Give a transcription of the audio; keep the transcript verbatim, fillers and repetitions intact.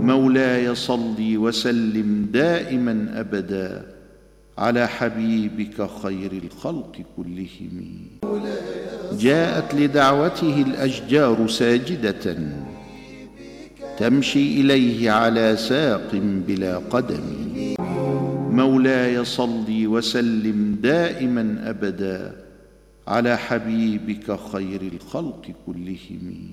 مولاي صل وسلم دائما أبدا على حبيبك خير الخلق كلهم. جاءت لدعوته الأشجار ساجدة تمشي إليه على ساق بلا قدم. مولاي صل وسلم دائما أبدا على حبيبك خير الخلق كلهم.